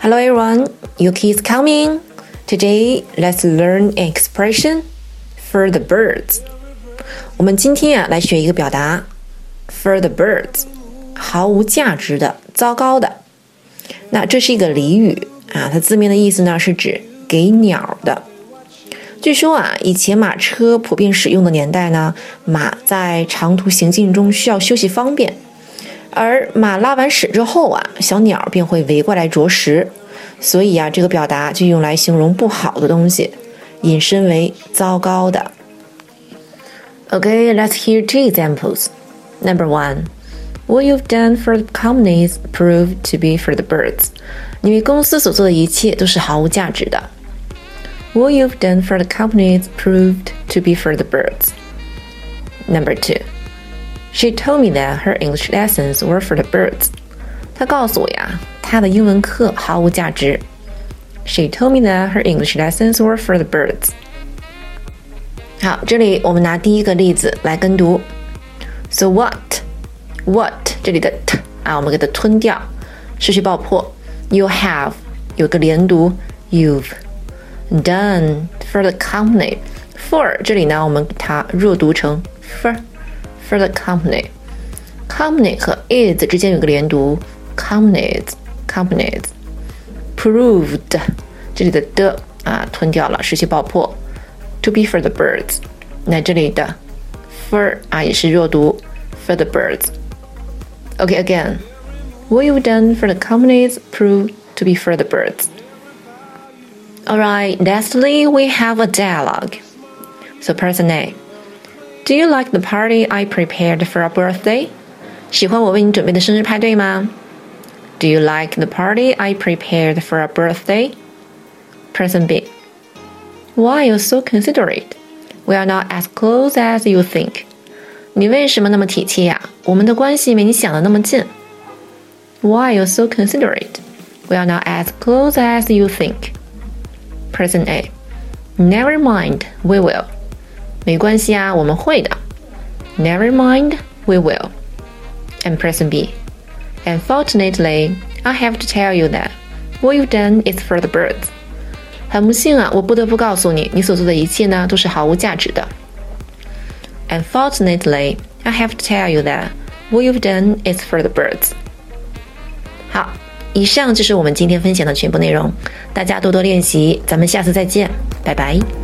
Hello everyone, Yuki is coming. Today, let's learn an expression for the birds. 我们今天来学一个表达 for the birds， 毫无价值的、糟糕的。那这是一个俚语它字面的意思呢是指给鸟的。据说以前马车普遍使用的年代呢，马在长途行进中需要休息方便，而马拉完屎之后小鸟便会围过来啄食，所以这个表达就用来形容不好的东西，引申为糟糕的。Okay, let's hear two examples. Number one, what you've done for the companies proved to be for the birds. 你为公司所做的一切都是毫无价值的。What you've done for the companies proved to be for the birds. Number two, she told me that her English lessons were for the birds. 她告诉我她的英文课毫无价值。She told me that her English lessons were for the birds. 好，这里我们拿第一个例子来跟读。So what 这里的 t 我们给它吞掉，失去爆破。You have 有个连读 you've done for the company. For 这里呢，我们给它弱读成 for the company. Company 和 is 之间有个连读 companies. Proved 这里的的吞掉了，失去爆破。To be for the birds. 那这里的 for 也是弱读 for the birds. Okay, again. What you've done for the companies proved to be for the birds. Alright, lastly, we have a dialogue. So person A. Do you like the party I prepared for our birthday? 喜欢我为你准备的生日派对吗？ Do you like the party I prepared for our birthday? Person B. Why are you so considerate? We are not as close as you think. 你为什么那么体贴呀？我们的关系没你想的那么近。Why are you so considerate? We are not as close as you think. Person A. Never mind, we will. 没关系我们会的。Never mind, we will. And person B. Unfortunately, I have to tell you that what you've done is for the birds. 很不幸我不得不告诉你，你所做的一切呢都是毫无价值的。Unfortunately, I have to tell you that what you've done is for the birds. 好，以上就是我们今天分享的全部内容，大家多多练习，咱们下次再见，拜拜。